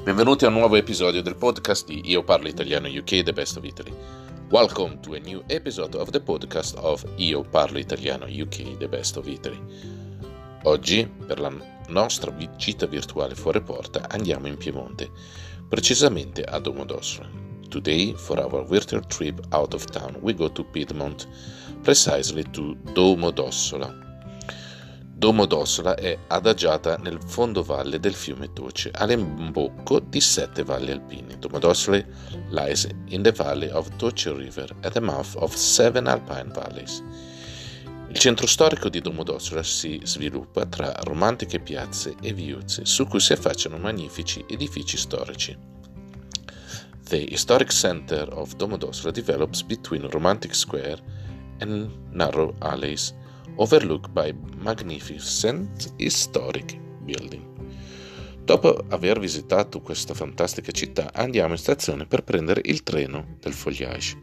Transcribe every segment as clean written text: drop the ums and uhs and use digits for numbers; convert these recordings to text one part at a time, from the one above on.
Benvenuti a un nuovo episodio del podcast di Io Parlo Italiano UK, The Best of Italy. Welcome to a new episode of the podcast of Io Parlo Italiano UK, The Best of Italy. Oggi, per la nostra gita virtuale fuori porta, andiamo in Piemonte, precisamente a Domodossola. Today, for our virtual trip out of town, we go to Piedmont, precisely to Domodossola. Domodossola è adagiata nel fondovalle del fiume Toce, all'imbocco di 7 valli alpine. Domodossola lies in the valley of Toce River at the mouth of 7 alpine valleys. Il centro storico di Domodossola si sviluppa tra romantiche piazze e viuzze su cui si affacciano magnifici edifici storici. The historic center of Domodossola develops between romantic square and narrow alleys, overlooked by magnificent historic building. Dopo aver visitato questa fantastica città, andiamo in stazione per prendere il treno del Foliage.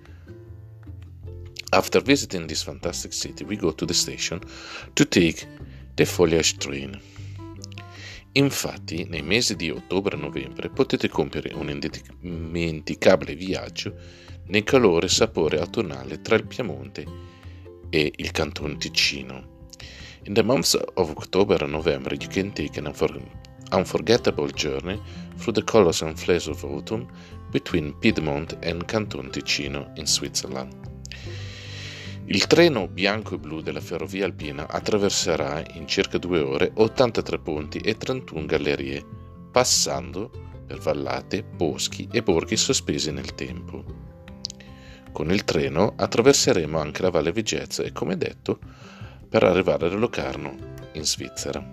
After visiting this fantastic city, we go to the station to take the Foliage train. Infatti, nei mesi di ottobre e novembre potete compiere un indimenticabile viaggio nel calore e sapore autunnale tra il Piemonte e il Canton Ticino. In the months of October and November, you can take an unforgettable journey through the colors and flavors of autumn between Piedmont and Canton Ticino in Switzerland. Il treno bianco e blu della ferrovia alpina attraverserà in circa 2 ore 83 ponti e 31 gallerie, passando per vallate, boschi e borghi sospesi nel tempo. Con il treno attraverseremo anche la Valle Vigezzo e, come detto, per arrivare a Locarno, in Svizzera.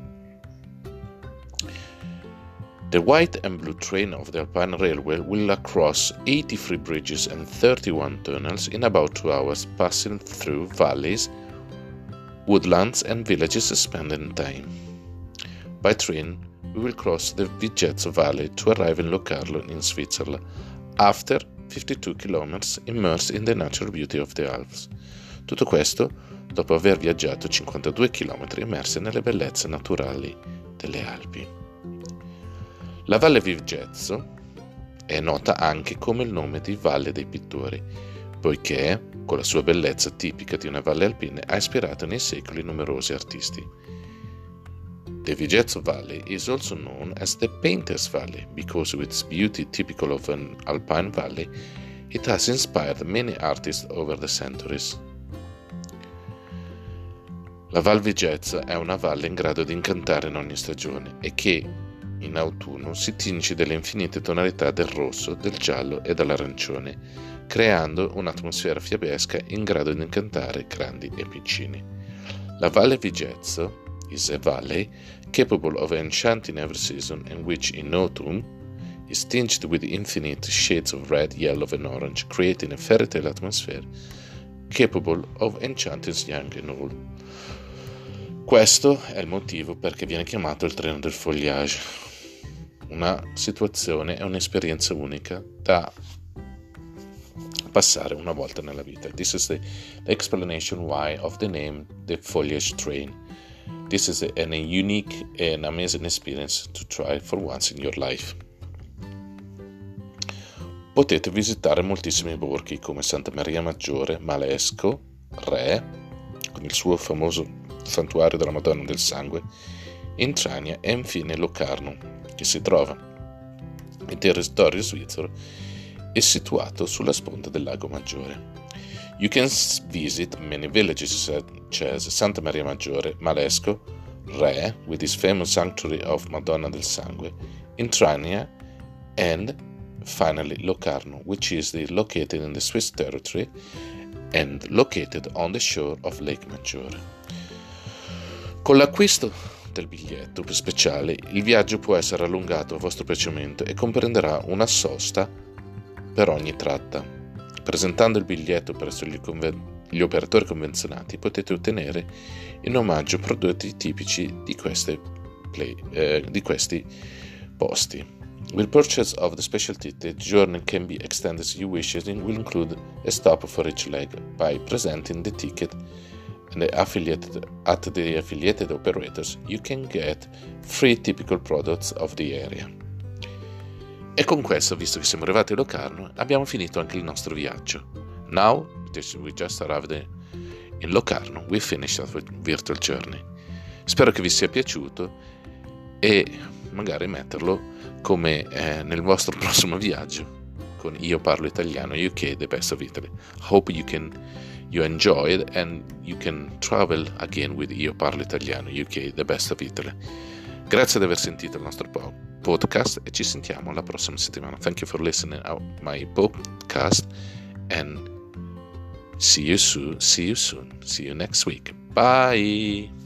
The white and blue train of the Alpine Railway will cross 83 bridges and 31 tunnels in about 2 hours, passing through valleys, woodlands and villages spending time. By train, we will cross the Vigezzo Valley to arrive in Locarno, in Switzerland, after 52 km immersed in the natural beauty of the Alps. Tutto questo dopo aver viaggiato 52 km immersi nelle bellezze naturali delle Alpi. La Valle Vigezzo è nota anche come il nome di Valle dei Pittori, poiché, con la sua bellezza tipica di una valle alpina, ha ispirato nei secoli numerosi artisti. The Vigezzo Valley is also known as the Painter's Valley because with its beauty typical of an alpine valley, it has inspired many artists over the centuries. La Val Vigezzo è una valle in grado di incantare in ogni stagione e che in autunno si tinge delle infinite tonalità del rosso, del giallo e dell'arancione, creando un'atmosfera fiabesca in grado di incantare grandi e piccini. La Valle Vigezzo is a valley capable of enchanting every season and which in autumn is tinged with infinite shades of red, yellow and orange, creating a fairy tale atmosphere capable of enchanting young and old. Questo è il motivo perché viene chiamato il treno del Foliage, una situazione e un'esperienza unica da passare una volta nella vita. This is the explanation why of the name the Foliage train. This is a unique and amazing experience to try for once in your life. Potete visitare moltissimi borghi come Santa Maria Maggiore, Malesco, Re, con il suo famoso santuario della Madonna del Sangue, Intrania e infine Locarno, che si trova in territorio svizzero e situato sulla sponda del Lago Maggiore. You can visit many villages such as Santa Maria Maggiore, Malesco, Re, with its famous sanctuary of Madonna del Sangue, Intrania, and finally Locarno, which is located in the Swiss territory and located on the shore of Lake Maggiore. Con l'acquisto del biglietto speciale, il viaggio può essere allungato a vostro piacimento e comprenderà una sosta per ogni tratta. Presentando il biglietto presso gli operatori convenzionati potete ottenere in omaggio prodotti tipici di questi posti. With purchase of the special ticket, the journey can be extended as you wish and will include a stop for each leg. By presenting the ticket and the affiliated operators, you can get 3 typical products of the area. E con questo, visto che siamo arrivati a Locarno, abbiamo finito anche il nostro viaggio. Now, we just arrived in Locarno, we finished our virtual journey. Spero che vi sia piaciuto e magari metterlo come nel vostro prossimo viaggio con Io Parlo Italiano UK, The Best of Italy. Hope you enjoy it and you can travel again with Io Parlo Italiano UK, The Best of Italy. Grazie di aver sentito il nostro podcast e ci sentiamo la prossima settimana. Thank you for listening to my podcast and see you soon. See you next week. Bye.